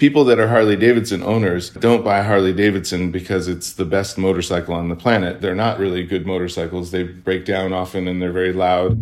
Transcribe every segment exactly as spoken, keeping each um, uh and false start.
People that are Harley-Davidson owners don't buy Harley-Davidson because it's the best motorcycle on the planet. They're not really good motorcycles. They break down often and they're very loud.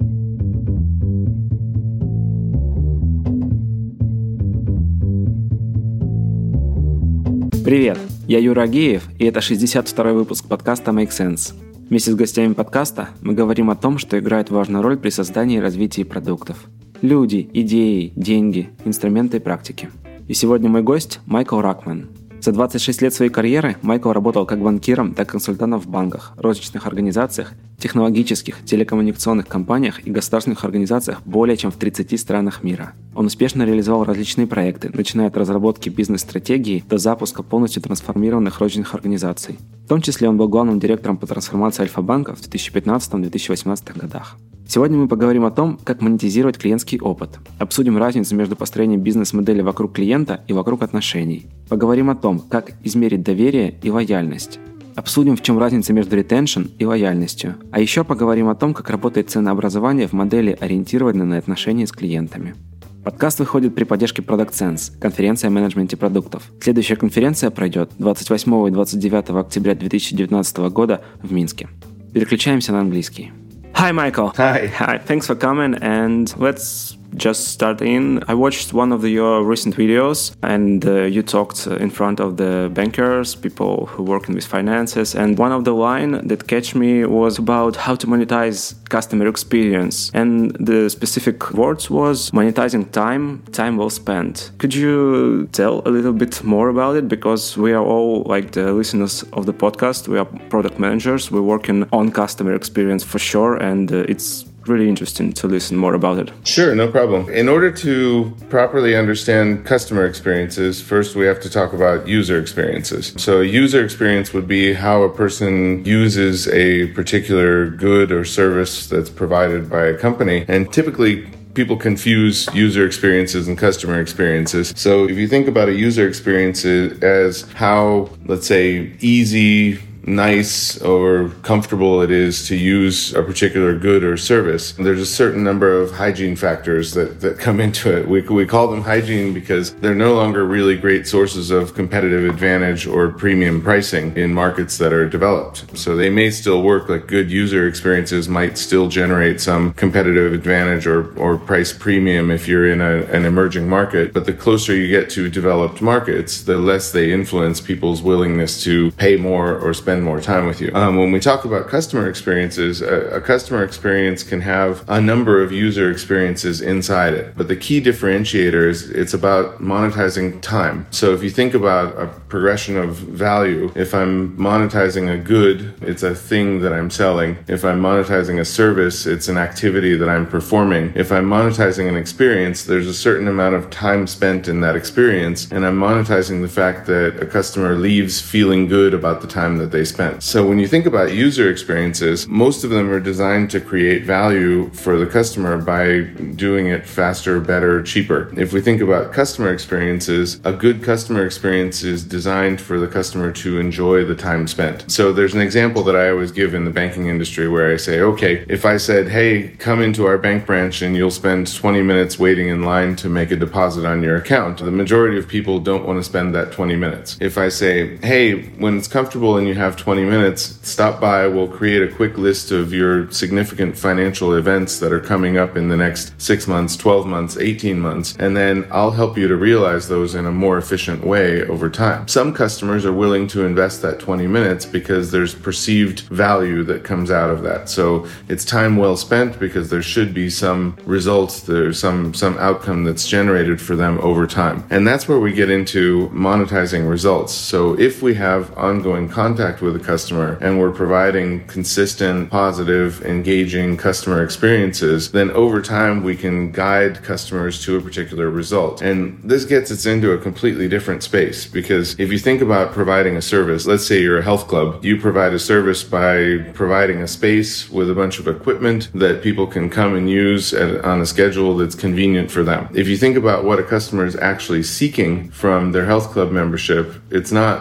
Привет, я Юра Агеев, и это шестьдесят второй выпуск подкаста Make Sense. Вместе с гостями подкаста мы говорим о том, что играет важную роль при создании и развитии продуктов. Люди, идеи, деньги, инструменты и практики. И сегодня мой гость Майкл Ракман. За двадцать шесть лет своей карьеры Майкл работал как банкиром, так и консультантом в банках, розничных организациях, технологических, телекоммуникационных компаниях и государственных организациях более чем в тридцати странах мира. Он успешно реализовал различные проекты, начиная от разработки бизнес-стратегии до запуска полностью трансформированных розничных организаций. В том числе он был главным директором по трансформации Альфа-банка в две тысячи пятнадцатом - две тысячи восемнадцатом годах. Сегодня мы поговорим о том, как монетизировать клиентский опыт. Обсудим разницу между построением бизнес-модели вокруг клиента и вокруг отношений. Поговорим о том, как измерить доверие и лояльность. Обсудим, в чем разница между retention и лояльностью. А еще поговорим о том, как работает ценообразование в модели, ориентированной на отношения с клиентами. Подкаст выходит при поддержке Product Sense, конференция о менеджменте продуктов. Следующая конференция пройдет двадцать восьмого и двадцать девятого октября две тысячи девятнадцатого года в Минске. Переключаемся на английский. Hi, Michael. Hi. Hi. Thanks for coming, and let's just start in. I watched one of the, your recent videos, and uh, you talked in front of the bankers, people who work with finances, and one of the line that catch me was about how to monetize customer experience, and the specific words was monetizing time, time well spent. Could you tell a little bit more about it? Because we are all, like the listeners of the podcast, we are product managers, we're working on customer experience for sure, and uh, it's really interesting to listen more about it. Sure, no problem. In order to properly understand customer experiences, first we have to talk about user experiences. So a user experience would be how a person uses a particular good or service that's provided by a company. And typically, people confuse user experiences and customer experiences. So if you think about a user experience as how, let's say, easy, nice or comfortable it is to use a particular good or service, there's a certain number of hygiene factors that, that come into it. We, we call them hygiene because they're no longer really great sources of competitive advantage or premium pricing in markets that are developed. So they may still work, like good user experiences might still generate some competitive advantage or, or price premium if you're in a, an emerging market. But the closer you get to developed markets, the less they influence people's willingness to pay more or spend more time with you. Um, when we talk about customer experiences, a, a customer experience can have a number of user experiences inside it. But the key differentiator is it's about monetizing time. So if you think about a progression of value, if I'm monetizing a good, it's a thing that I'm selling. If I'm monetizing a service, it's an activity that I'm performing. If I'm monetizing an experience, there's a certain amount of time spent in that experience, and I'm monetizing the fact that a customer leaves feeling good about the time that they spent. So when you think about user experiences, most of them are designed to create value for the customer by doing it faster, better, cheaper. If we think about customer experiences, a good customer experience is designed for the customer to enjoy the time spent. So there's an example that I always give in the banking industry where I say, okay, if I said, hey, come into our bank branch and you'll spend twenty minutes waiting in line to make a deposit on your account, the majority of people don't want to spend that twenty minutes. If I say, hey, when it's comfortable and you have twenty minutes, stop by, we'll create a quick list of your significant financial events that are coming up in the next six months, twelve months, eighteen months, and then I'll help you to realize those in a more efficient way over time. Some customers are willing to invest that twenty minutes because there's perceived value that comes out of that. So it's time well spent because there should be some results, there's some, some outcome that's generated for them over time. And that's where we get into monetizing results. So if we have ongoing contact with a customer and we're providing consistent, positive, engaging customer experiences, then over time we can guide customers to a particular result. And this gets us into a completely different space because if you think about providing a service, let's say you're a health club, you provide a service by providing a space with a bunch of equipment that people can come and use at, on a schedule that's convenient for them. If you think about what a customer is actually seeking from their health club membership, it's not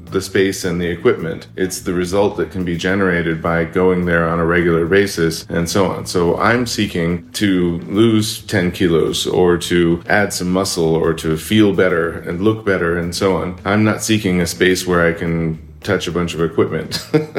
the space and the equipment. It's the result that can be generated by going there on a regular basis and so on. So I'm seeking to lose ten kilos or to add some muscle or to feel better and look better and so on. I'm not seeking a space where I can touch a bunch of equipment.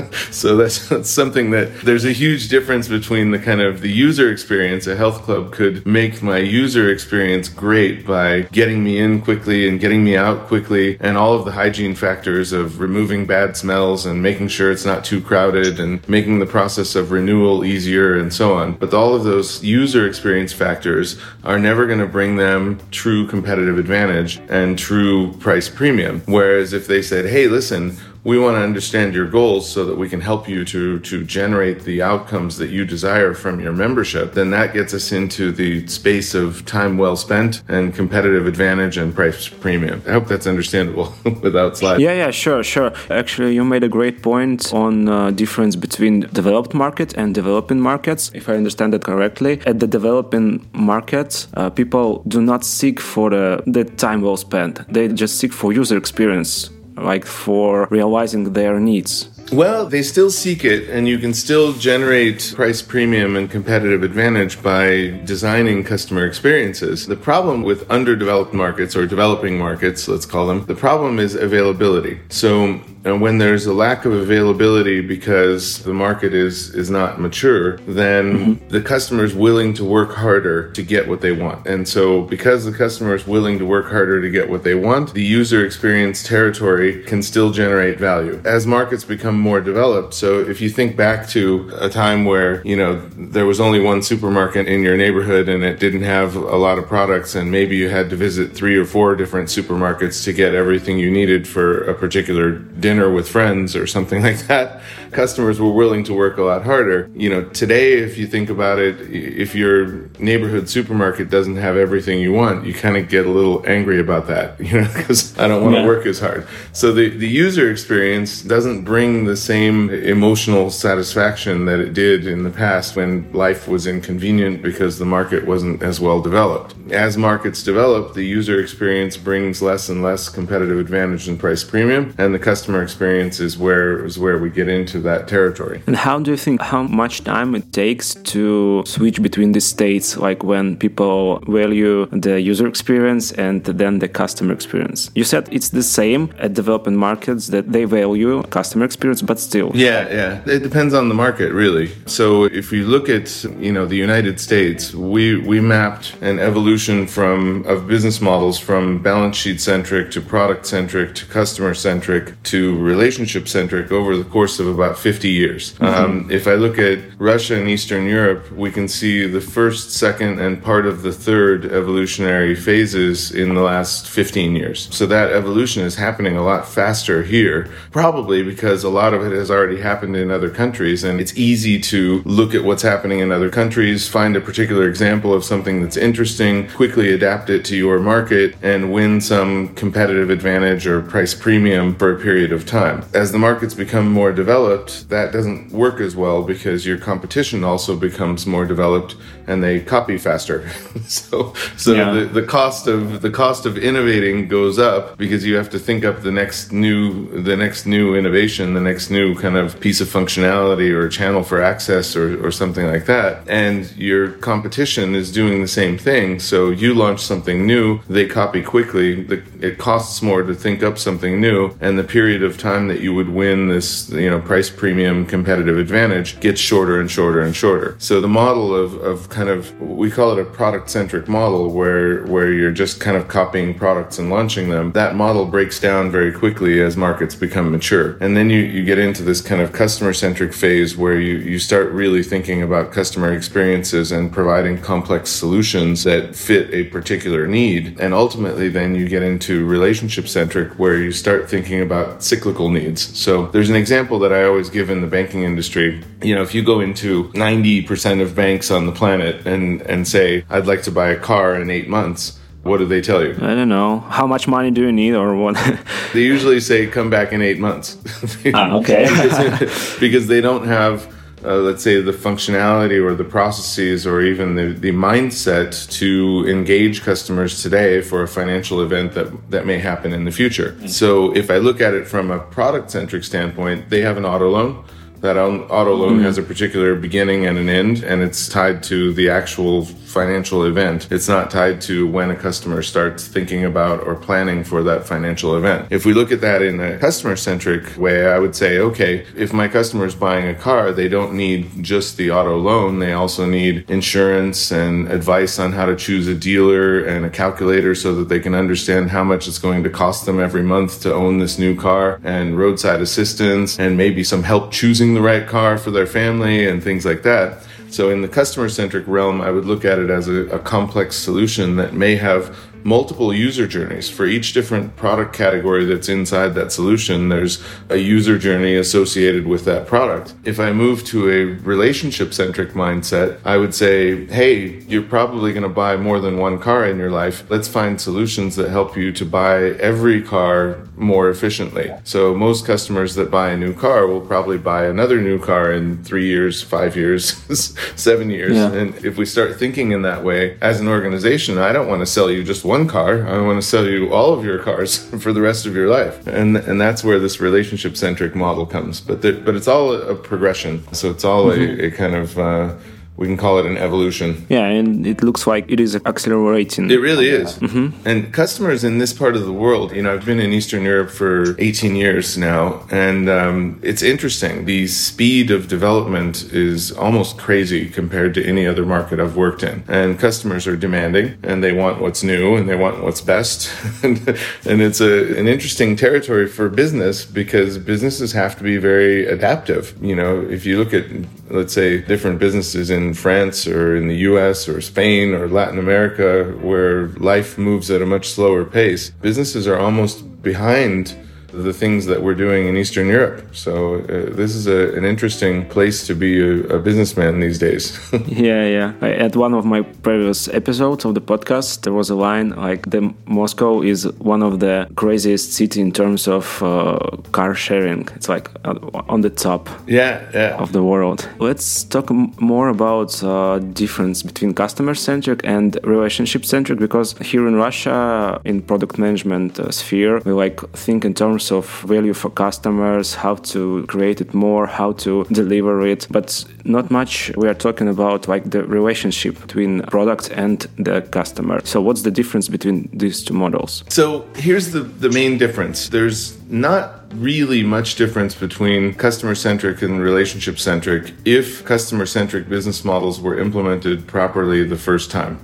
So that's, that's something that there's a huge difference between the kind of the user experience. A health club could make my user experience great by getting me in quickly and getting me out quickly, and all of the hygiene factors of removing bad smells and making sure it's not too crowded and making the process of renewal easier and so on. But all of those user experience factors are never going to bring them true competitive advantage and true price premium. Whereas if they said, hey, listen, we want to understand your goals so that we can help you to, to generate the outcomes that you desire from your membership, then that gets us into the space of time well spent and competitive advantage and price premium. I hope that's understandable without slides. Yeah, yeah, sure, sure. Actually, you made a great point on uh, difference between developed market and developing markets. If I understand it correctly, at the developing markets, uh, people do not seek for the, the time well spent. They just seek for user experience, like for realizing their needs. Well, they still seek it, and you can still generate price premium and competitive advantage by designing customer experiences. The problem with underdeveloped markets, or developing markets, let's call them, the problem is availability. So and when there's a lack of availability because the market is, is not mature, then mm-hmm. the customer is willing to work harder to get what they want. And so because the customer is willing to work harder to get what they want, the user experience territory can still generate value. As markets become more developed, so if you think back to a time where, you know, there was only one supermarket in your neighborhood and it didn't have a lot of products, and maybe you had to visit three or four different supermarkets to get everything you needed for a particular dinner with friends or something like that, customers were willing to work a lot harder. You know, today, if you think about it, if your neighborhood supermarket doesn't have everything you want, you kind of get a little angry about that, you know, because I don't want to yeah. work as hard. So the, the user experience doesn't bring the same emotional satisfaction that it did in the past when life was inconvenient because the market wasn't as well developed. As markets develop, the user experience brings less and less competitive advantage and price premium, and the customer experience is where is where we get into that territory. And how do you think how much time it takes to switch between the states, like when people value the user experience and then the customer experience? You said it's the same at developing markets, that they value customer experience, but still. Yeah, yeah. It depends on the market, really. So if you look at, you know, the United States, we we mapped an evolution from of business models from balance sheet centric to product centric to customer centric to relationship centric over the course of about fifty years. Mm-hmm. Um, if I look at Russia and Eastern Europe, we can see the first, second, and part of the third evolutionary phases in the last fifteen years. So that evolution is happening a lot faster here, probably because a lot of it has already happened in other countries, and it's easy to look at what's happening in other countries, find a particular example of something that's interesting, quickly adapt it to your market, and win some competitive advantage or price premium for a period of time. As the markets become more developed, that doesn't work as well because your competition also becomes more developed and they copy faster. so so yeah. the, the cost of the cost of innovating goes up because you have to think up the next new the next new innovation, the next new kind of piece of functionality or channel for access or, or something like that. And your competition is doing the same thing. So you launch something new, they copy quickly. The, it costs more to think up something new, and the period of time that you would win this, you know, price premium competitive advantage gets shorter and shorter and shorter. So the model of, of kind of, we call it a product-centric model where, where you're just kind of copying products and launching them. That model breaks down very quickly as markets become mature. And then you, you get into this kind of customer-centric phase where you, you start really thinking about customer experiences and providing complex solutions that fit a particular need. And ultimately then you get into relationship-centric where you start thinking about cyclical needs. So there's an example that I always give in the banking industry. You know, if you go into ninety percent of banks on the planet and, and say, I'd like to buy a car in eight months, what do they tell you? I don't know. How much money do you need or what? They usually say, come back in eight months. Ah, okay. because, because they don't have uh, let's say, the functionality or the processes or even the, the mindset to engage customers today for a financial event that, that may happen in the future. Mm-hmm. So if I look at it from a product-centric standpoint, they have an auto loan. That auto loan mm. has a particular beginning and an end, and it's tied to the actual financial event. It's not tied to when a customer starts thinking about or planning for that financial event. If we look at that in a customer-centric way, I would say, okay, if my customer is buying a car, they don't need just the auto loan. They also need insurance and advice on how to choose a dealer and a calculator so that they can understand how much it's going to cost them every month to own this new car, and roadside assistance, and maybe some help choosing the right car for their family and things like that. So in the customer-centric realm, I would look at it as a, a complex solution that may have multiple user journeys. For each different product category that's inside that solution, there's a user journey associated with that product. If I move to a relationship-centric mindset, I would say, hey, you're probably going to buy more than one car in your life. Let's find solutions that help you to buy every car more efficiently. So most customers that buy a new car will probably buy another new car in three years, five years, seven years. Yeah. And if we start thinking in that way, as an organization, I don't want to sell you just one car. I want to sell you all of your cars for the rest of your life. And and that's where this relationship-centric model comes. But the, but it's all a progression. So it's all mm-hmm. a, a kind of... Uh, we can call it an evolution. Yeah, and it looks like it is accelerating. It really is. Mm-hmm. And customers in this part of the world, you know, I've been in Eastern Europe for eighteen years now, and um, it's interesting. The speed of development is almost crazy compared to any other market I've worked in. And customers are demanding, and they want what's new, and they want what's best. and, and it's a, an interesting territory for business, because businesses have to be very adaptive. You know, if you look at, let's say, different businesses in France or in the U S or Spain or Latin America, where life moves at a much slower pace, businesses are almost behind the things that we're doing in Eastern Europe. So uh, this is a, an interesting place to be a, a businessman these days. yeah, yeah. I, at one of my previous episodes of the podcast, there was a line like, the Moscow is one of the craziest cities in terms of uh, car sharing. It's like uh, on the top yeah, yeah. of the world. Let's talk m- more about uh, difference between customer-centric and relationship-centric, because here in Russia, in product management uh, sphere, we like think in terms of value for customers, how to create it more, how to deliver it, but not much we are talking about like the relationship between product and the customer. So what's the difference between these two models? So here's the, the main difference. There's not really much difference between customer-centric and relationship-centric if customer-centric business models were implemented properly the first time.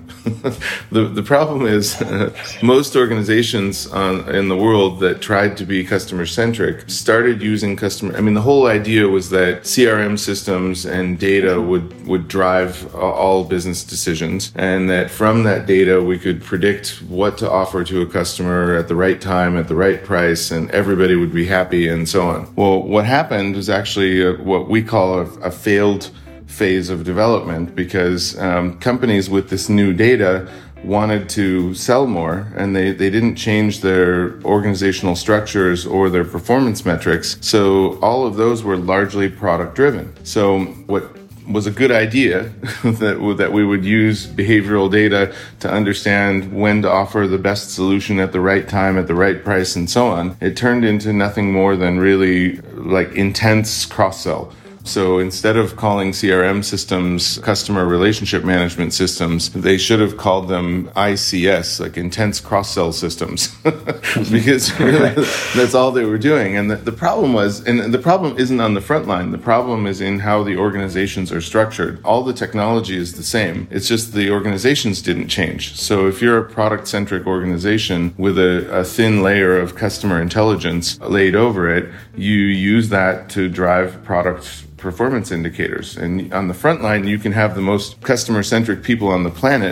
the the problem is uh, most organizations on, in the world that tried to be customer-centric started using customer. I mean, the whole idea was that C R M systems and data would, would drive all business decisions, and that from that data we could predict what to offer to a customer at the right time, at the right price, and everybody would be happy and so on. Well, what happened was actually a, what we call a, a failed phase of development, because um, companies with this new data wanted to sell more, and they, they didn't change their organizational structures or their performance metrics. So all of those were largely product driven. So what was a good idea that that we would use behavioral data to understand when to offer the best solution at the right time, at the right price, and so on. It turned into nothing more than really like intense cross-sell. So instead of calling C R M systems customer relationship management systems, they should have called them I C S, like intense cross-sell systems, because really that's all they were doing. And the, the problem was, and the problem isn't on the front line, the problem is in how the organizations are structured. All the technology is the same. It's just the organizations didn't change. So if you're a product-centric organization with a, a thin layer of customer intelligence laid over it, you use that to drive product performance indicators. And on the front line, you can have the most customer-centric people on the planet,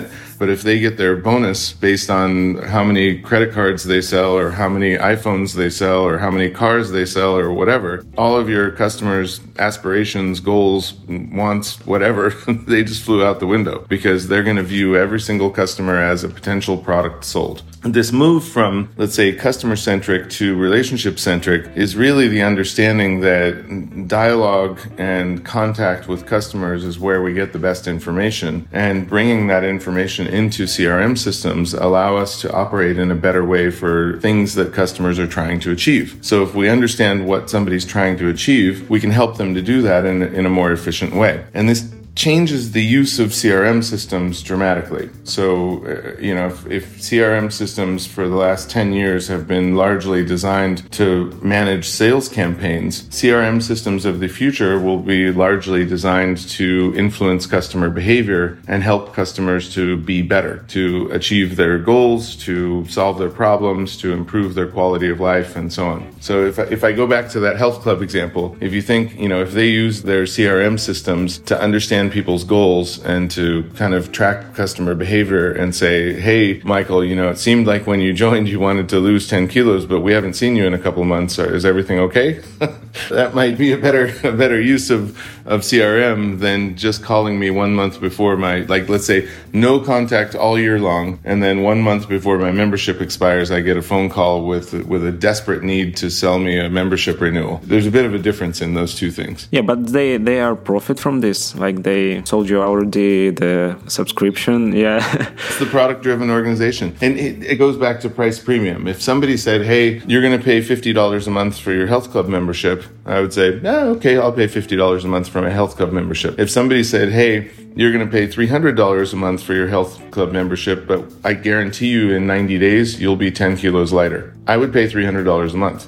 But if they get their bonus based on how many credit cards they sell or how many iPhones they sell or how many cars they sell or whatever, all of your customers' aspirations, goals, wants, whatever, they just flew out the window because they're going to view every single customer as a potential product sold. This move from, let's say, customer-centric to relationship-centric is really the understanding that dialogue and contact with customers is where we get the best information, and bringing that information into C R M systems allow us to operate in a better way for things that customers are trying to achieve. So if we understand what somebody's trying to achieve, we can help them to do that in, in a more efficient way. And this changes the use of C R M systems dramatically. So, uh, you know, if, if C R M systems for the last ten years have been largely designed to manage sales campaigns, C R M systems of the future will be largely designed to influence customer behavior and help customers to be better, to achieve their goals, to solve their problems, to improve their quality of life, and so on. So if I, if I go back to that health club example, if you think, you know, if they use their C R M systems to understand people's goals and to kind of track customer behavior and say, hey, Michael, you know, it seemed like when you joined you wanted to lose ten kilos, but we haven't seen you in a couple of months. Is everything okay? That might be a better a better use of, of C R M than just calling me one month before my, like, let's say, no contact all year long, and then one month before my membership expires, I get a phone call with with a desperate need to sell me a membership renewal. There's a bit of a difference in those two things. Yeah, but they, they are profit from this. Like, they sold you already the subscription. Yeah. It's the product-driven organization. And it, it goes back to price premium. If somebody said, hey, you're going to pay fifty dollars a month for your health club membership, I would say, no, okay, I'll pay fifty dollars a month for my health club membership. If somebody said, hey, you're going to pay three hundred dollars a month for your health club membership, but I guarantee you in ninety days, you'll be ten kilos lighter, I would pay three hundred dollars a month.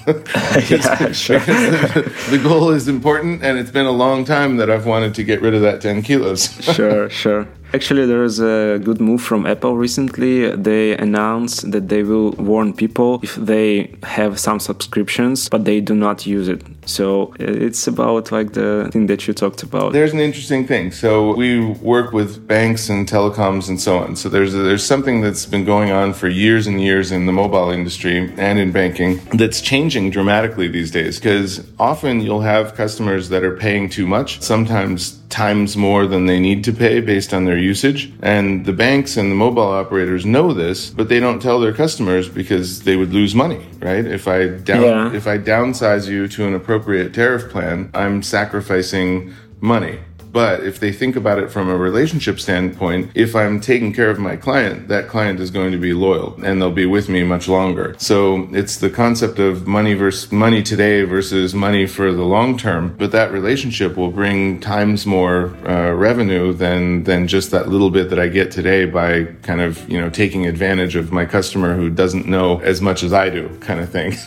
Yeah, sure. the, the goal is important, and it's been a long time that I've wanted to get rid of that ten kilos. Sure, sure. Actually, there is a good move from Apple recently. They announced that they will warn people if they have some subscriptions, but they do not use it. So it's about like the thing that you talked about. There's an interesting thing. So we work with banks and telecoms and so on. So there's a, there's something that's been going on for years and years in the mobile industry and in banking that's changing dramatically these days, because often you'll have customers that are paying too much, sometimes times more than they need to pay based on their usage. And the banks and the mobile operators know this, but they don't tell their customers because they would lose money, right? If I down, yeah. if I downsize you to an appropriate tariff plan, I'm sacrificing money. But if they think about it from a relationship standpoint, if I'm taking care of my client, that client is going to be loyal and they'll be with me much longer. So it's the concept of money versus money today versus money for the long term. But that relationship will bring times more uh, revenue than than just that little bit that I get today by kind of, you know, taking advantage of my customer who doesn't know as much as I do, kind of thing.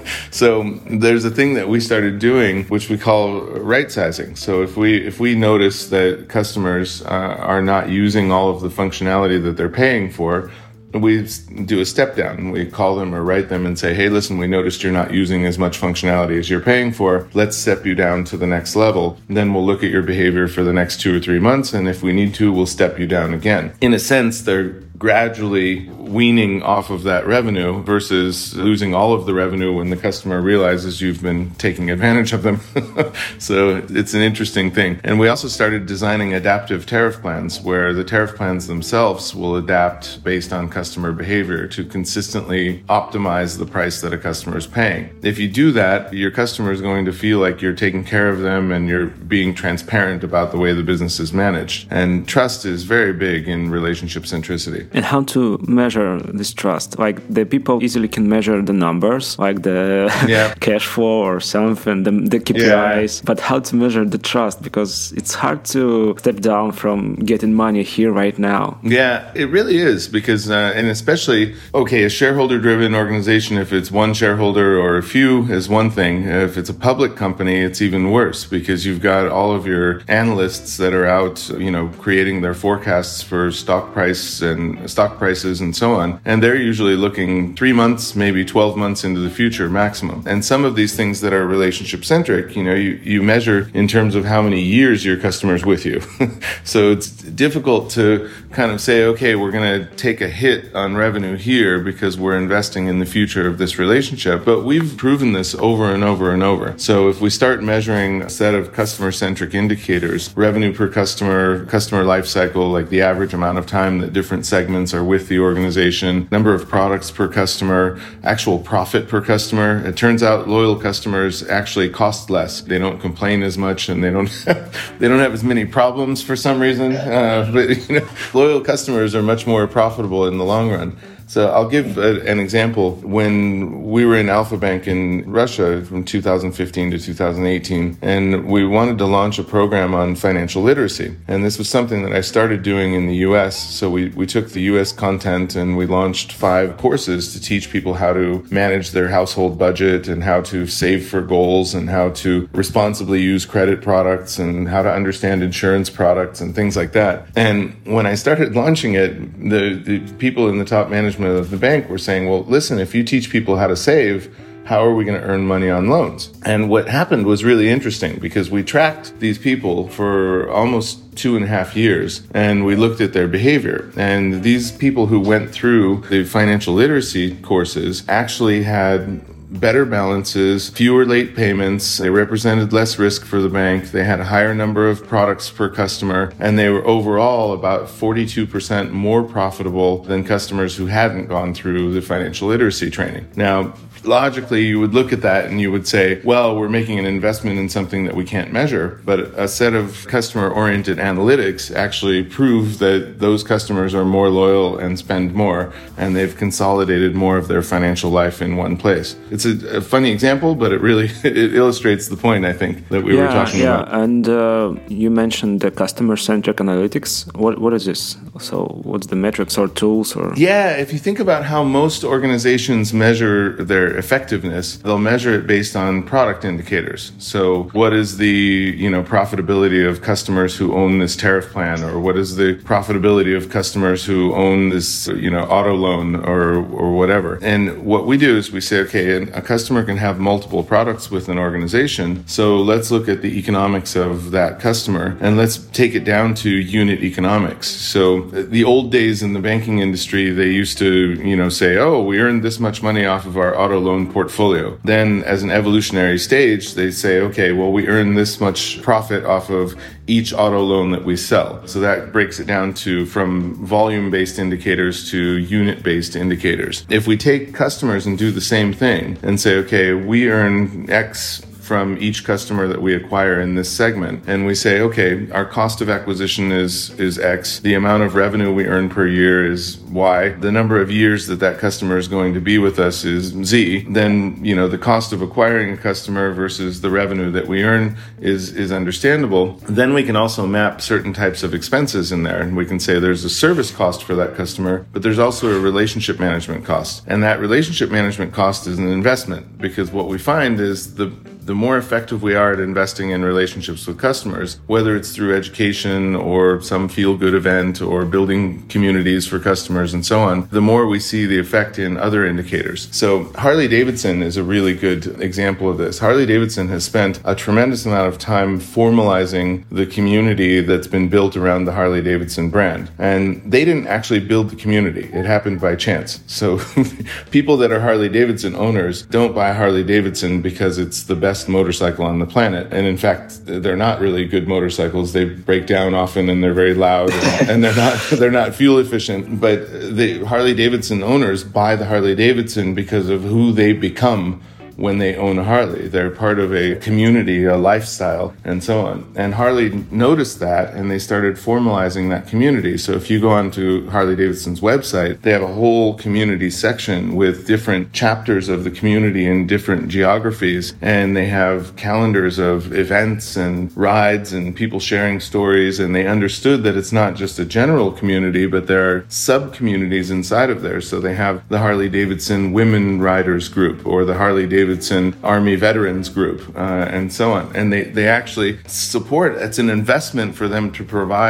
So there's a thing that we started doing, which we call right sizing. So if we if we notice that customers uh, are not using all of the functionality that they're paying for, we do a step down. We call them or write them and say, hey, listen, we noticed you're not using as much functionality as you're paying for. Let's step you down to the next level. And then we'll look at your behavior for the next two or three months. And if we need to, we'll step you down again. In a sense, they're gradually weaning off of that revenue versus losing all of the revenue when the customer realizes you've been taking advantage of them. So it's an interesting thing. And we also started designing adaptive tariff plans where the tariff plans themselves will adapt based on customer behavior to consistently optimize the price that a customer is paying. If you do that, your customer is going to feel like you're taking care of them and you're being transparent about the way the business is managed. And trust is very big in relationship centricity. And how to measure this trust? Like, the people easily can measure the numbers, like the yeah. cash flow or something, the, the K P Is. Yeah. But how to measure the trust? Because it's hard to step down from getting money here right now. Yeah, it really is. Because, uh, and especially, okay, a shareholder-driven organization, if it's one shareholder or a few, is one thing. If it's a public company, it's even worse because you've got all of your analysts that are out, you know, creating their forecasts for stock price and and stock prices and so on. And they're usually looking three months, maybe twelve months into the future maximum. And some of these things that are relationship centric, you know, you, you measure in terms of how many years your customer's with you. So it's difficult to kind of say, okay, we're going to take a hit on revenue here because we're investing in the future of this relationship. But we've proven this over and over and over. So if we start measuring a set of customer-centric indicators, revenue per customer, customer life cycle, like the average amount of time that different segments are with the organization, number of products per customer, actual profit per customer, it turns out loyal customers actually cost less. They don't complain as much and they don't they don't have as many problems for some reason. Uh, but you know, loyal customers are much more profitable in the long run. So I'll give a, an example. When we were in Alfa Bank in Russia from two thousand fifteen to two thousand eighteen, and we wanted to launch a program on financial literacy. And this was something that I started doing in the U S. So we, we took the U S content and we launched five courses to teach people how to manage their household budget and how to save for goals and how to responsibly use credit products and how to understand insurance products and things like that. And when I started launching it, the, the people in the top management of the bank were saying, well, listen, if you teach people how to save, how are we going to earn money on loans? And what happened was really interesting because we tracked these people for almost two and a half years and we looked at their behavior. And these people who went through the financial literacy courses actually had better balances, fewer late payments, they represented less risk for the bank, they had a higher number of products per customer, and they were overall about forty-two percent more profitable than customers who hadn't gone through the financial literacy training. Now, logically, you would look at that and you would say, well, we're making an investment in something that we can't measure, but a set of customer-oriented analytics actually prove that those customers are more loyal and spend more, and they've consolidated more of their financial life in one place. It's a, a funny example, but it really it illustrates the point, I think, that we yeah, were talking yeah. about. Yeah, and uh, you mentioned the customer-centric analytics. What What is this? So what's the metrics or tools? Or Yeah, if you think about how most organizations measure their effectiveness, they'll measure it based on product indicators. So what is the, you know, profitability of customers who own this tariff plan, or what is the profitability of customers who own this, you know, auto loan or or whatever. And what we do is we say, okay, a customer can have multiple products with an organization. So let's look at the economics of that customer and let's take it down to unit economics. So the old days in the banking industry, they used to, you know, say, oh, we earned this much money off of our auto loan portfolio. Then as an evolutionary stage, they say, okay, well, we earn this much profit off of each auto loan that we sell. So that breaks it down to from volume-based indicators to unit-based indicators. If we take customers and do the same thing and say, okay, we earn X from each customer that we acquire in this segment. And we say, okay, our cost of acquisition is is X. The amount of revenue we earn per year is Y. The number of years that that customer is going to be with us is Z. Then, you know, the cost of acquiring a customer versus the revenue that we earn is, is understandable. Then we can also map certain types of expenses in there. And we can say there's a service cost for that customer, but there's also a relationship management cost. And that relationship management cost is an investment, because what we find is the the more effective we are at investing in relationships with customers, whether it's through education or some feel-good event or building communities for customers and so on, the more we see the effect in other indicators. So Harley-Davidson is a really good example of this. Harley-Davidson has spent a tremendous amount of time formalizing the community that's been built around the Harley-Davidson brand. And they didn't actually build the community. It happened by chance. So people that are Harley-Davidson owners don't buy Harley-Davidson because it's the best motorcycle on the planet. And in fact, they're not really good motorcycles. They break down often and they're very loud and, and they're not they're not fuel efficient. But the Harley-Davidson owners buy the Harley-Davidson because of who they become when they own a Harley. They're part of a community, a lifestyle, and so on. And Harley noticed that, and they started formalizing that community. So if you go onto Harley-Davidson's website, they have a whole community section with different chapters of the community in different geographies, and they have calendars of events and rides and people sharing stories, and they understood that it's not just a general community, but there are sub-communities inside of there. So they have the Harley-Davidson Women Riders Group, or the Harley-Davidson Davidson Army Veterans Group, uh, and so on. And they, they actually support, it's an investment for them to provide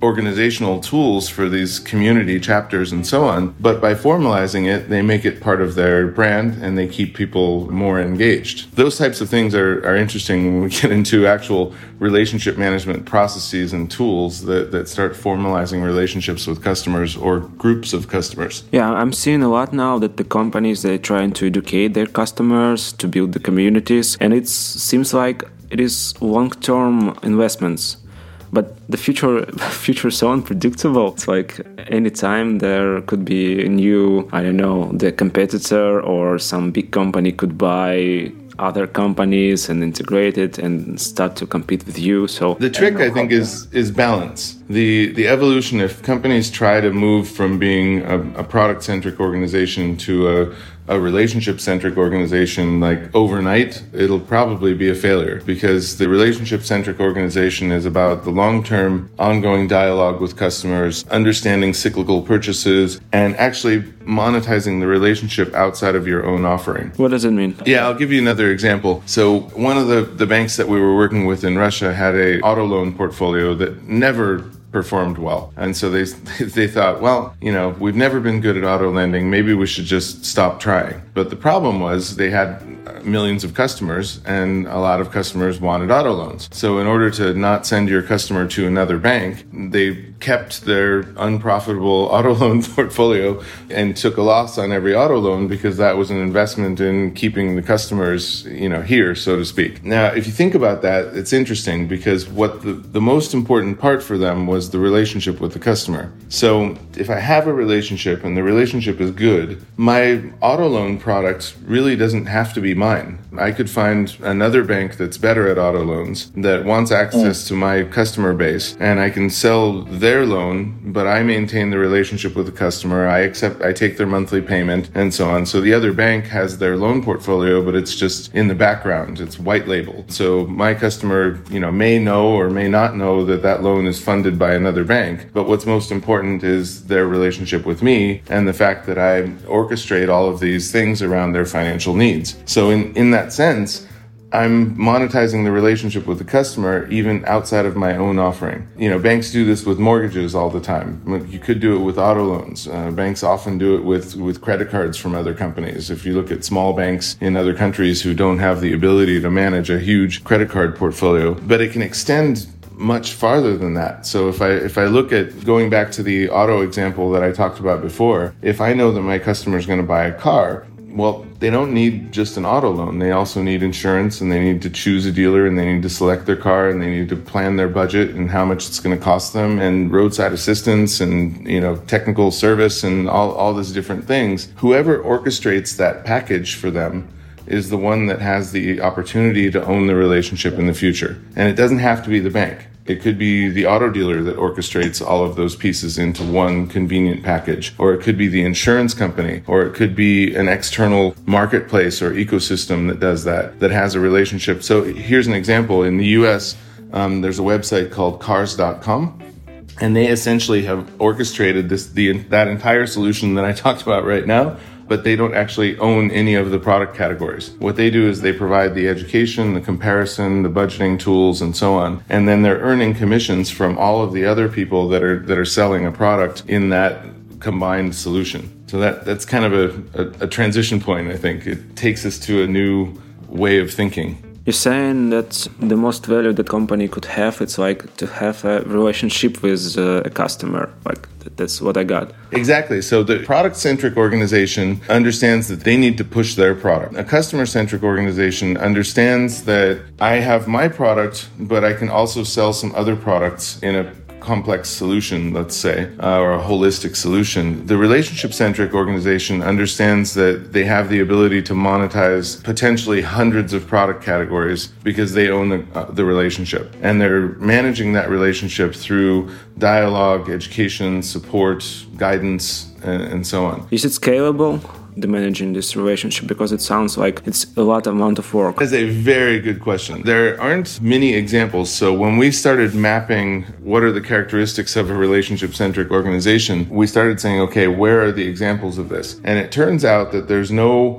organizational tools for these community chapters and so on. But by formalizing it, they make it part of their brand and they keep people more engaged. Those types of things are, are interesting when we get into actual relationship management processes and tools that, that start formalizing relationships with customers or groups of customers. Yeah, I'm seeing a lot now that the companies, they're trying to educate their customers, to build the communities, and it seems like it is long-term investments. But the future future is so unpredictable. It's like anytime there could be a new, I don't know, the competitor or some big company could buy other companies and integrate it and start to compete with you. So the trick, I, I think, is is balance. The the evolution, if companies try to move from being a, a product-centric organization to a a relationship-centric organization, like overnight, it'll probably be a failure, because the relationship-centric organization is about the long-term ongoing dialogue with customers, understanding cyclical purchases, and actually monetizing the relationship outside of your own offering. What does it mean? Yeah, I'll give you another example. So one of the, the banks that we were working with in Russia had a auto loan portfolio that never performed well. And so they they thought, well, you know, we've never been good at auto lending. Maybe we should just stop trying. But the problem was they had millions of customers and a lot of customers wanted auto loans. So in order to not send your customer to another bank, they kept their unprofitable auto loan portfolio and took a loss on every auto loan, because that was an investment in keeping the customers, you know, here, so to speak. Now, if you think about that, it's interesting, because what the, the most important part for them was the relationship with the customer. So if I have a relationship and the relationship is good, my auto loan product really doesn't have to be mine. I could find another bank that's better at auto loans that wants access mm. to my customer base, and I can sell their loan, but I maintain the relationship with the customer. I accept, I take their monthly payment and so on. So the other bank has their loan portfolio, but it's just in the background. It's white labeled. So my customer, you know, may know or may not know that that loan is funded by another bank. But what's most important is their relationship with me and the fact that I orchestrate all of these things around their financial needs. So in, in that sense, I'm monetizing the relationship with the customer even outside of my own offering. You know, banks do this with mortgages all the time. You could do it with auto loans. Uh, banks often do it with, with credit cards from other companies. If you look at small banks in other countries who don't have the ability to manage a huge credit card portfolio, but it can extend much farther than that. So if I if I look at going back to the auto example that I talked about before, if I know that my customer is going to buy a car, well, they don't need just an auto loan. They also need insurance, and they need to choose a dealer, and they need to select their car, and they need to plan their budget and how much it's going to cost them, and roadside assistance and, you know, technical service and all, all these different things. Whoever orchestrates that package for them is the one that has the opportunity to own the relationship in the future. And it doesn't have to be the bank. It could be the auto dealer that orchestrates all of those pieces into one convenient package, or it could be the insurance company, or it could be an external marketplace or ecosystem that does that, that has a relationship. So here's an example. In the U S, um, there's a website called cars dot com, and they essentially have orchestrated this the that entire solution that I talked about right now, but they don't actually own any of the product categories. What they do is they provide the education, the comparison, the budgeting tools, and so on. And then they're earning commissions from all of the other people that are that are selling a product in that combined solution. So that that's kind of a, a, a transition point, I think. It takes us to a new way of thinking. You're saying that the most value that company could have, it's like to have a relationship with uh, a customer. Like, that's what I got. Exactly. So the product-centric organization understands that they need to push their product. A customer-centric organization understands that I have my product, but I can also sell some other products in a complex solution, let's say, uh, or a holistic solution. The relationship-centric organization understands that they have the ability to monetize potentially hundreds of product categories because they own the, uh, the relationship. And they're managing that relationship through dialogue, education, support, guidance, and, and so on. Is it scalable, the managing this relationship? Because it sounds like it's a lot amount of work. That's a very good question. There aren't many examples. So when we started mapping what are the characteristics of a relationship-centric organization, we started saying, okay, where are the examples of this? And it turns out that there's no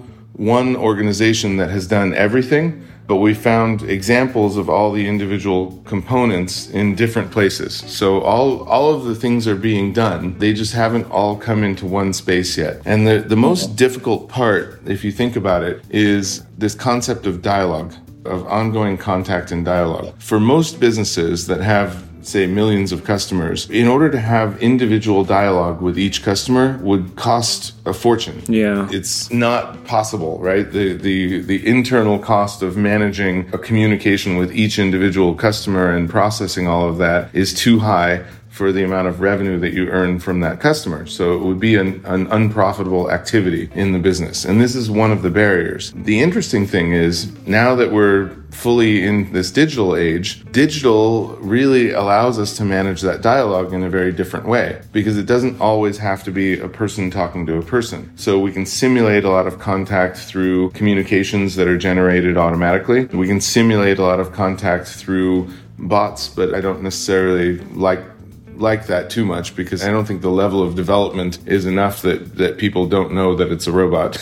one organization that has done everything, but we found examples of all the individual components in different places. So all all of the things are being done. They just haven't all come into one space yet. And the, the most difficult part, if you think about it, is this concept of dialogue, of ongoing contact and dialogue. For most businesses that have, say, millions of customers, in order to have individual dialogue with each customer would cost a fortune. Yeah. It's not possible, right? The, the, the internal cost of managing a communication with each individual customer and processing all of that is too high for the amount of revenue that you earn from that customer. So it would be an, an unprofitable activity in the business. And this is one of the barriers. The interesting thing is, now that we're fully in this digital age, digital really allows us to manage that dialogue in a very different way, because it doesn't always have to be a person talking to a person. So we can simulate a lot of contact through communications that are generated automatically. We can simulate a lot of contact through bots, but I don't necessarily like like that too much, because I don't think the level of development is enough that, that people don't know that it's a robot.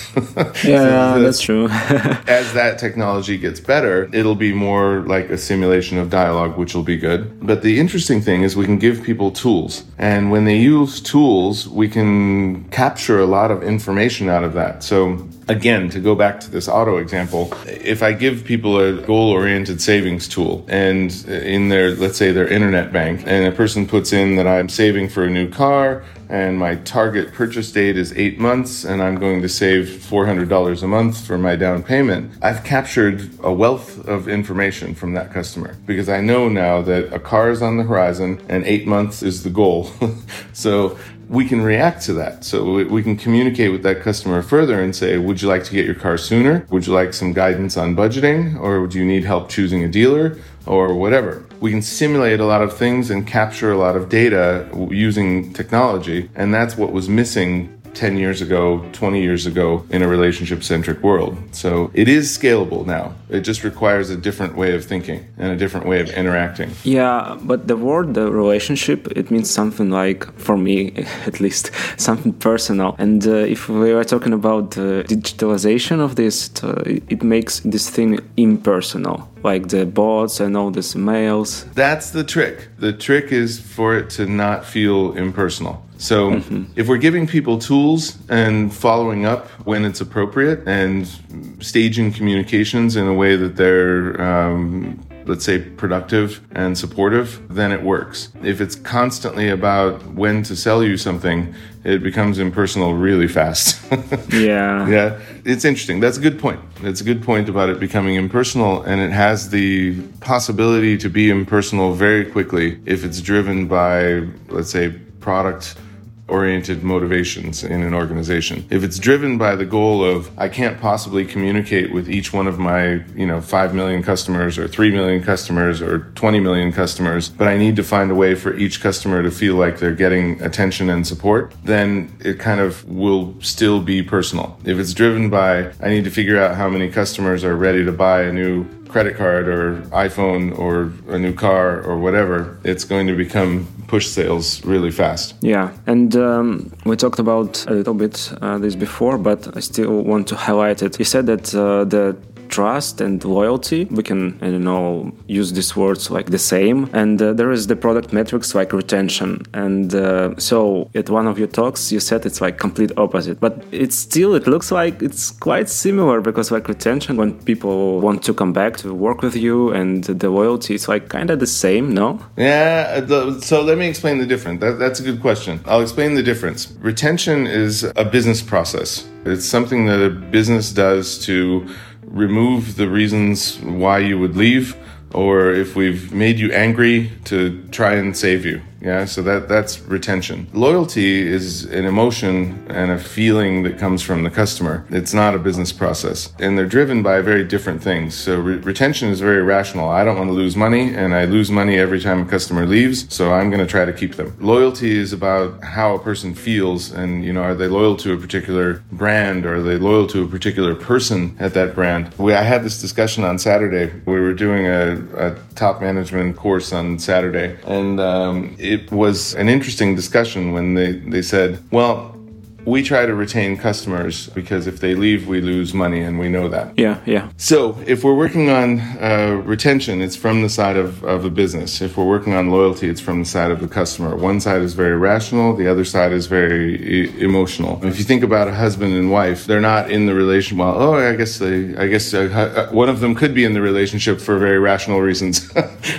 Yeah, so that's true. As that technology gets better, it'll be more like a simulation of dialogue, which will be good. But the interesting thing is we can give people tools. And when they use tools, we can capture a lot of information out of that. So again, to go back to this auto example, if I give people a goal-oriented savings tool and in their, let's say their internet bank, and a person puts in that I'm saving for a new car and my target purchase date is eight months and I'm going to save four hundred dollars a month for my down payment, I've captured a wealth of information from that customer, because I know now that a car is on the horizon and eight months is the goal. So we can react to that. So we can communicate with that customer further and say, would you like to get your car sooner? Would you like some guidance on budgeting? Or do you need help choosing a dealer? Or whatever. We can simulate a lot of things and capture a lot of data using technology. And that's what was missing ten years ago, twenty years ago in a relationship-centric world. So it is scalable now. It just requires a different way of thinking and a different way of interacting. Yeah, but the word, the relationship, it means something like, for me at least, something personal. And uh, if we are talking about uh, digitalization of this, uh, it makes this thing impersonal, like the bots and all these mails. That's the trick. The trick is for it to not feel impersonal. So mm-hmm. if we're giving people tools and following up when it's appropriate and staging communications in a way that they're, um, let's say, productive and supportive, then it works. If it's constantly about when to sell you something, it becomes impersonal really fast. Yeah. Yeah. It's interesting. That's a good point. It's a good point about it becoming impersonal, and it has the possibility to be impersonal very quickly if it's driven by, let's say, product oriented motivations in an organization. If it's driven by the goal of, I can't possibly communicate with each one of my, you know, five million customers or three million customers or twenty million customers, but I need to find a way for each customer to feel like they're getting attention and support, then it kind of will still be personal. If it's driven by, I need to figure out how many customers are ready to buy a new credit card or iPhone or a new car or whatever, it's going to become push sales really fast. Yeah, and um, we talked about a little bit uh, this before, but I still want to highlight it. You said that uh, the trust and loyalty, we can, I don't know, use these words like the same. And uh, there is the product metrics like retention. And uh, so at one of your talks, you said it's like complete opposite. But it's still, it looks like it's quite similar, because like retention, when people want to come back to work with you, and the loyalty, it's like kind of the same, no? Yeah, the, so let me explain the difference. That, that's a good question. I'll explain the difference. Retention is a business process. It's something that a business does to remove the reasons why you would leave, or if we've made you angry, to try and save you. Yeah, so that that's retention. Loyalty is an emotion and a feeling that comes from the customer. It's not a business process. And they're driven by very different things. So re- retention is very rational. I don't want to lose money, and I lose money every time a customer leaves, so I'm going to try to keep them. Loyalty is about how a person feels, and, you know, are they loyal to a particular brand, or are they loyal to a particular person at that brand? We, I had this discussion on Saturday. We were doing a, a top management course on Saturday, and um, it was an interesting discussion when they, they said, well, we try to retain customers because if they leave, we lose money, and we know that. Yeah, yeah. So if we're working on uh, retention, it's from the side of, of a business. If we're working on loyalty, it's from the side of the customer. One side is very rational. The other side is very e- emotional. If you think about a husband and wife, they're not in the relation. Well, oh, I guess they, I guess uh, one of them could be in the relationship for very rational reasons.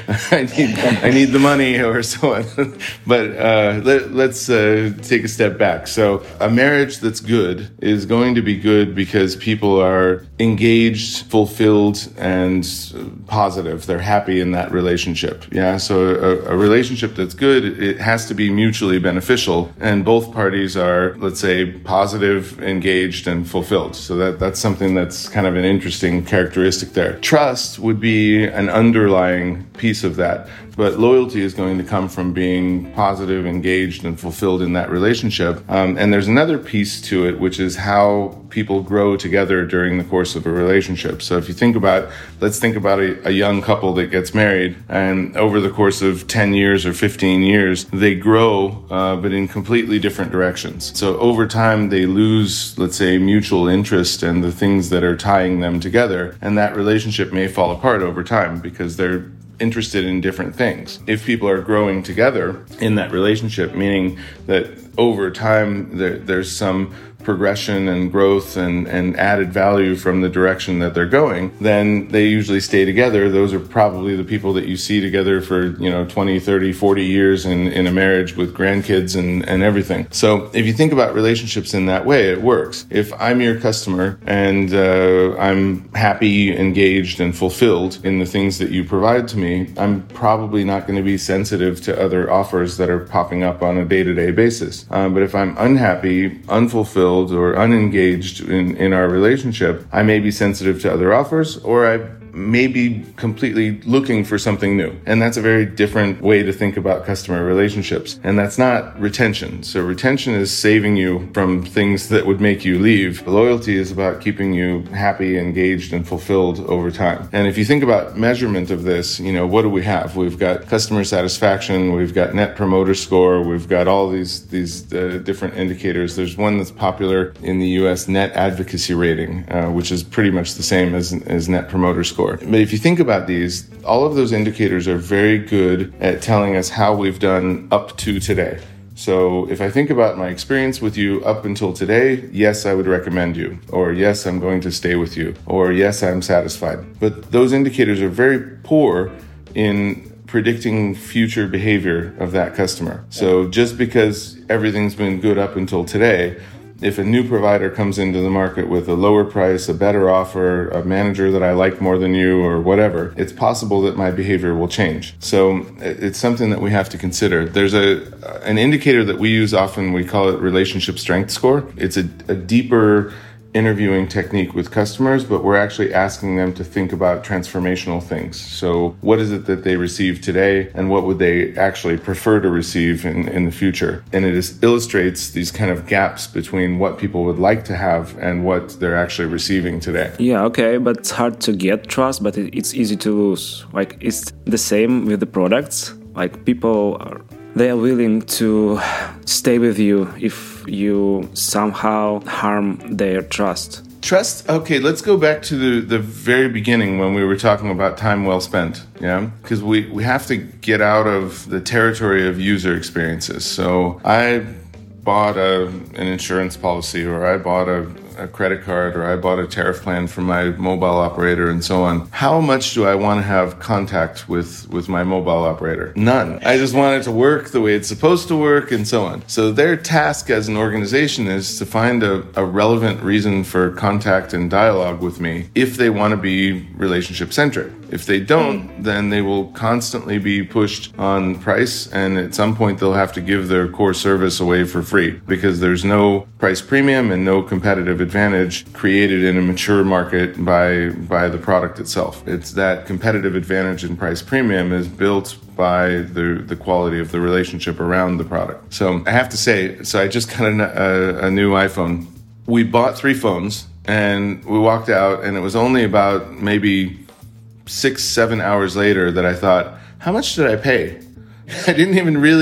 I need, I need the money or so on. But uh, let, let's uh, take a step back. So a marriage that's good is going to be good because people are engaged, fulfilled, and positive. They're happy in that relationship. Yeah. So a, a relationship that's good, it has to be mutually beneficial, and both parties are, let's say, positive, engaged, and fulfilled. So that that's something that's kind of an interesting characteristic there. Trust would be an underlying piece of that. But loyalty is going to come from being positive, engaged, and fulfilled in that relationship. Um, and there's another piece to it, which is how people grow together during the course of a relationship. So if you think about, let's think about a, a young couple that gets married, and over the course of ten years or fifteen years, they grow, uh, but in completely different directions. So over time, they lose, let's say, mutual interest and the things that are tying them together. And that relationship may fall apart over time because they're interested in different things. If people are growing together in that relationship, meaning that over time there, there's some progression and growth and, and added value from the direction that they're going, then they usually stay together. Those are probably the people that you see together for, you know, twenty, thirty, forty years in, in a marriage with grandkids and, and everything. So if you think about relationships in that way, it works. If I'm your customer and uh, I'm happy, engaged, and fulfilled in the things that you provide to me, I'm probably not going to be sensitive to other offers that are popping up on a day-to-day basis. Um, but if I'm unhappy, unfulfilled, or unengaged in, in our relationship, I may be sensitive to other offers, or I may be completely looking for something new. And that's a very different way to think about customer relationships. And that's not retention. So retention is saving you from things that would make you leave. Loyalty is about keeping you happy, engaged, and fulfilled over time. And if you think about measurement of this, you know, what do we have? We've got customer satisfaction, we've got net promoter score, we've got all these, these uh, different indicators. There's one that's popular in the U S, net advocacy rating, uh, which is pretty much the same as, as net promoter score. But if you think about these, all of those indicators are very good at telling us how we've done up to today. So if I think about my experience with you up until today, yes, I would recommend you, or yes, I'm going to stay with you, or yes, I'm satisfied. But those indicators are very poor in predicting future behavior of that customer. So just because everything's been good up until today, if a new provider comes into the market with a lower price, a better offer, a manager that I like more than you, or whatever, it's possible that my behavior will change. So it's something that we have to consider. There's a an indicator that we use often, we call it relationship strength score. It's a, a deeper interviewing technique with customers, but we're actually asking them to think about transformational things. So what is it that they receive today, and what would they actually prefer to receive in, in the future? And it is, illustrates these kind of gaps between what people would like to have and what they're actually receiving today. Yeah, okay, but it's hard to get trust, but it's easy to lose. Like, it's the same with the products. Like, people are they are willing to stay with you if you somehow harm their trust. Trust, okay, let's go back to the, the very beginning when we were talking about time well spent, yeah? Because we, we have to get out of the territory of user experiences. So I bought a, an insurance policy, or I bought a, a credit card, or I bought a tariff plan from my mobile operator, and so on. How much do I want to have contact with, with my mobile operator? None. I just want it to work the way it's supposed to work, and so on. So their task as an organization is to find a, a relevant reason for contact and dialogue with me if they want to be relationship-centric. If they don't, then they will constantly be pushed on price, and at some point they'll have to give their core service away for free because there's no price premium and no competitive advantage created in a mature market by by the product itself. It's that competitive advantage in price premium is built by the the quality of the relationship around the product. So I have to say, so I just got a, a, a new iPhone. We bought three phones and we walked out, and it was only about maybe six, seven hours later that I thought, how much did I pay? I didn't even really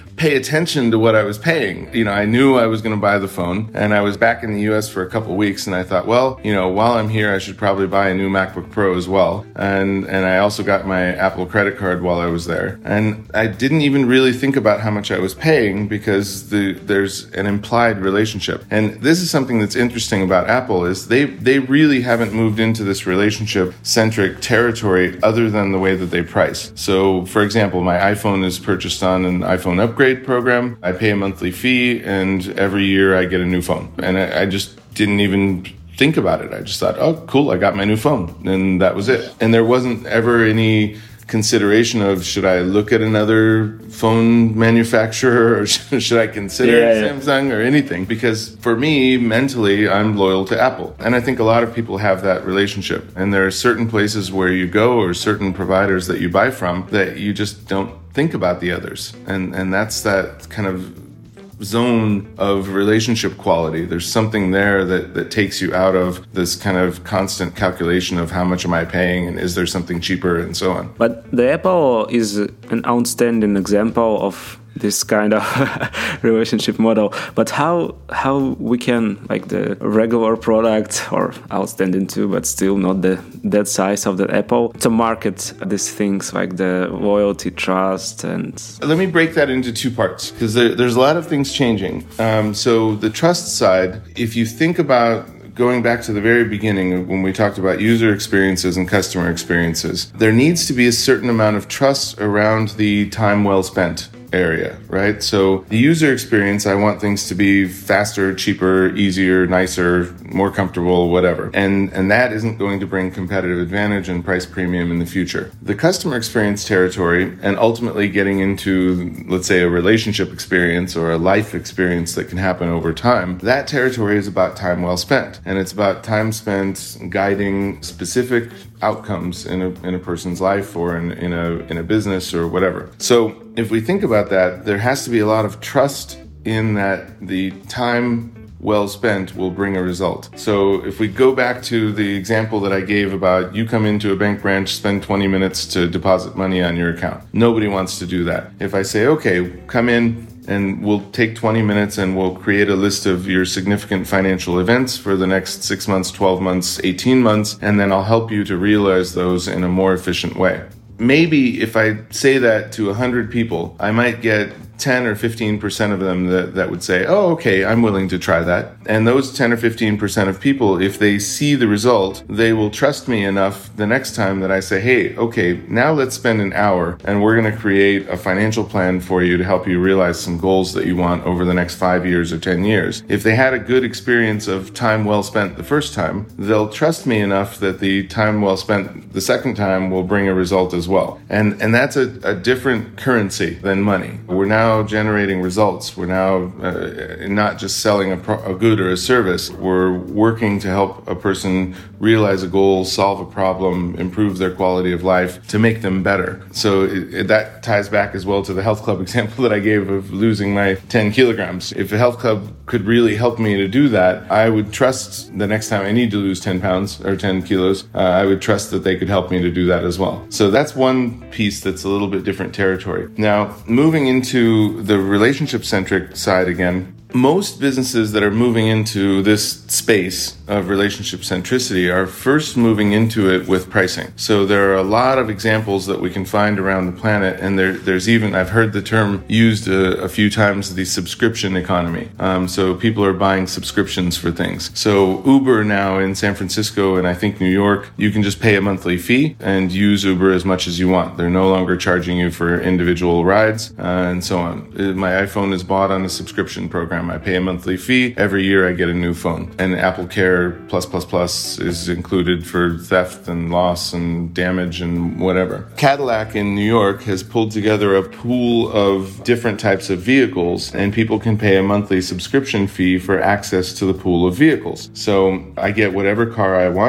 pay attention to what I was paying. You know, I knew I was going to buy the phone, and I was back in the U S for a couple of weeks, and I thought, well, you know, while I'm here, I should probably buy a new MacBook Pro as well. And and I also got my Apple credit card while I was there. And I didn't even really think about how much I was paying because the, there's an implied relationship. And this is something that's interesting about Apple is they, they really haven't moved into this relationship-centric territory other than the way that they price. So, for example, my iPhone is purchased on an iPhone upgrade program. I pay a monthly fee, and every year I get a new phone. And I, I just didn't even think about it. I just thought, oh, cool, I got my new phone. And that was it. And there wasn't ever any consideration of, should I look at another phone manufacturer, or should I consider yeah, yeah. Samsung or anything? Because for me, mentally, I'm loyal to Apple. And I think a lot of people have that relationship. And there are certain places where you go or certain providers that you buy from that you just don't think about the others. And and that's that kind of zone of relationship quality. There's something there that, that takes you out of this kind of constant calculation of how much am I paying and is there something cheaper and so on. But the Apple is an outstanding example of this kind of relationship model. But how how we can, like the regular product, or outstanding too, but still not the that size of the Apple, to market these things like the loyalty, trust, and... Let me break that into two parts, because there, there's a lot of things changing. Um, so the trust side, if you think about going back to the very beginning when we talked about user experiences and customer experiences, there needs to be a certain amount of trust around the time well spent area, right? So the user experience, I want things to be faster, cheaper, easier, nicer, more comfortable, whatever. And and that isn't going to bring competitive advantage and price premium in the future. The customer experience territory, and ultimately getting into, let's say, a relationship experience or a life experience that can happen over time, that territory is about time well spent. And it's about time spent guiding specific outcomes in a in a person's life or in, in a in a business or whatever. So if we think about that, there has to be a lot of trust in that the time well spent will bring a result. So if we go back to the example that I gave about you come into a bank branch, spend twenty minutes to deposit money on your account. Nobody wants to do that. If I say, okay, come in and we'll take twenty minutes and we'll create a list of your significant financial events for the next six months, twelve months, eighteen months, and then I'll help you to realize those in a more efficient way. Maybe if I say that to one hundred people, I might get ten or fifteen percent of them that, that would say, oh, okay, I'm willing to try that. And those ten or fifteen percent of people, if they see the result, they will trust me enough the next time that I say, hey, okay, now let's spend an hour and we're going to create a financial plan for you to help you realize some goals that you want over the next five years or ten years. If they had a good experience of time well spent the first time, they'll trust me enough that the time well spent the second time will bring a result as well. And, and that's a, a different currency than money. We're now generating results. We're now uh, not just selling a, pro- a good or a service. We're working to help a person realize a goal, solve a problem, improve their quality of life, to make them better. So it, it, that ties back as well to the health club example that I gave of losing my ten kilograms. If a health club could really help me to do that, I would trust the next time I need to lose ten pounds or ten kilos, uh, I would trust that they could help me to do that as well. So that's one piece that's a little bit different territory. Now, moving into the relationship-centric side again, most businesses that are moving into this space of relationship centricity are first moving into it with pricing. So there are a lot of examples that we can find around the planet, and there, there's even, I've heard the term used a, a few times, the subscription economy. Um, so people are buying subscriptions for things. So Uber now in San Francisco and I think New York, you can just pay a monthly fee and use Uber as much as you want. They're no longer charging you for individual rides uh, and so on. My iPhone is bought on a subscription program. I pay a monthly fee. Every year I get a new phone. And Apple Care Plus Plus Plus is included for theft and loss and damage and whatever. Cadillac in New York has pulled together a pool of different types of vehicles, and people can pay a monthly subscription fee for access to the pool of vehicles. So I get whatever car I want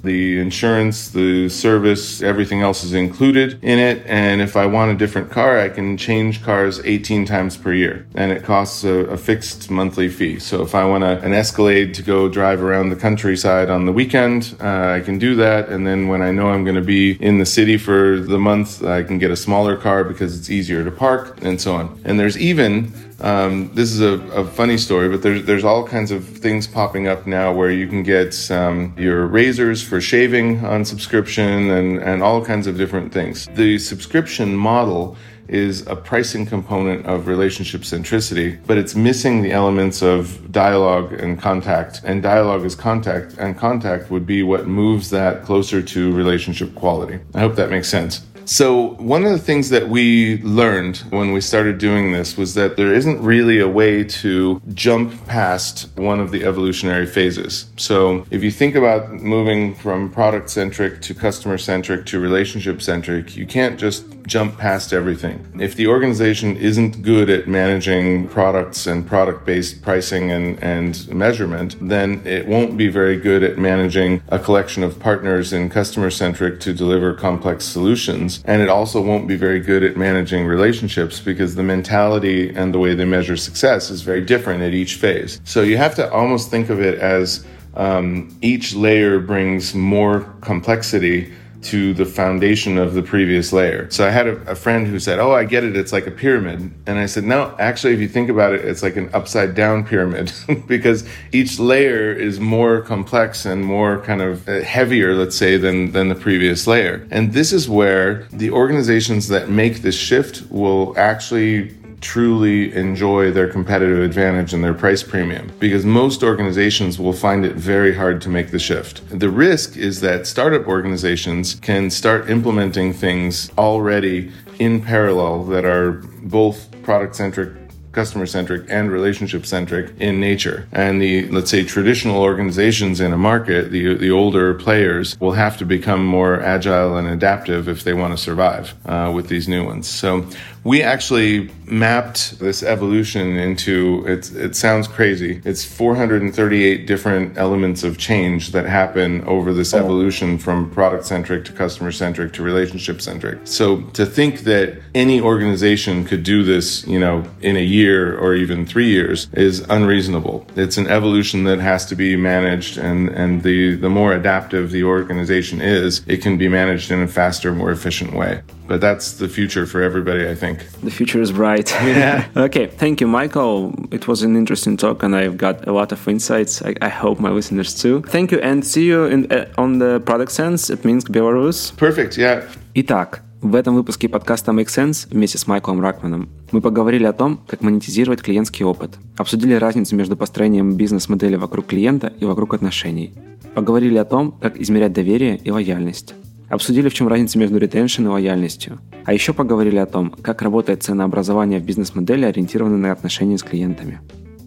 The insurance, the service, everything else is included in it. And if I want a different car, I can change cars eighteen times per year. And it costs a, a fixed monthly fee. So if I want a, an Escalade to go drive around the countryside on the weekend, uh, I can do that. And then when I know I'm going to be in the city for the month, I can get a smaller car because it's easier to park and so on. And there's even Um, this is a, a funny story, but there's there's all kinds of things popping up now where you can get um, your razors for shaving on subscription and, and all kinds of different things. The subscription model is a pricing component of relationship centricity, but it's missing the elements of dialogue and contact. And dialogue is contact, and contact would be what moves that closer to relationship quality. I hope that makes sense. So one of the things that we learned when we started doing this was that there isn't really a way to jump past one of the evolutionary phases. So if you think about moving from product-centric to customer-centric to relationship-centric, you can't just jump past everything. If the organization isn't good at managing products and product-based pricing and, and measurement, then it won't be very good at managing a collection of partners in customer-centric to deliver complex solutions. And it also won't be very good at managing relationships because the mentality and the way they measure success is very different at each phase. So you have to almost think of it as um, each layer brings more complexity to the foundation of the previous layer. So I had a, a friend who said, oh, I get it, it's like a pyramid. And I said, no, actually, if you think about it, it's like an upside down pyramid because each layer is more complex and more kind of heavier, let's say, than, than the previous layer. And this is where the organizations that make this shift will actually truly enjoy their competitive advantage and their price premium, because most organizations will find it very hard to make the shift. The risk is that startup organizations can start implementing things already in parallel that are both product-centric, customer-centric, and relationship-centric in nature. And the, let's say, traditional organizations in a market, the the older players, will have to become more agile and adaptive if they want to survive uh, with these new ones. So we actually mapped this evolution into, it's, it sounds crazy, it's four hundred thirty-eight different elements of change that happen over this evolution from product-centric to customer-centric to relationship-centric. So to think that any organization could do this, you know, in a year or even three years is unreasonable. It's an evolution that has to be managed, and, and the, the more adaptive the organization is, it can be managed in a faster, more efficient way. But that's the future for everybody, I think. The future is bright. Yeah. Okay, thank you, Michael. It was an interesting talk, and I've got a lot of insights. I, I hope my listeners too. Thank you, and see you in, uh, on the Product Sense at Minsk, Belarus. Perfect, yeah. Итак, в этом выпуске подкаста Make Sense вместе с Майклом Ракманом мы поговорили о том, как монетизировать клиентский опыт. Обсудили разницу между построением бизнес-модели вокруг клиента и вокруг отношений. Поговорили о том, как измерять доверие и лояльность. Обсудили, в чем разница между ретеншн и лояльностью. А еще поговорили о том, как работает ценообразование в бизнес-модели, ориентированной на отношения с клиентами.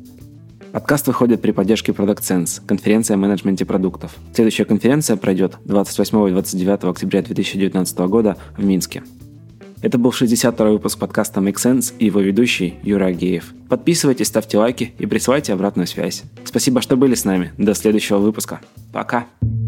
Подкаст выходит при поддержке Product Sense, конференция о менеджменте продуктов. Следующая конференция пройдет двадцать восьмого и двадцать девятого октября две тысячи девятнадцатого года в Минске. Это был шестьдесят второй выпуск подкаста Make Sense и его ведущий Юра Агеев. Подписывайтесь, ставьте лайки и присылайте обратную связь. Спасибо, что были с нами. До следующего выпуска. Пока!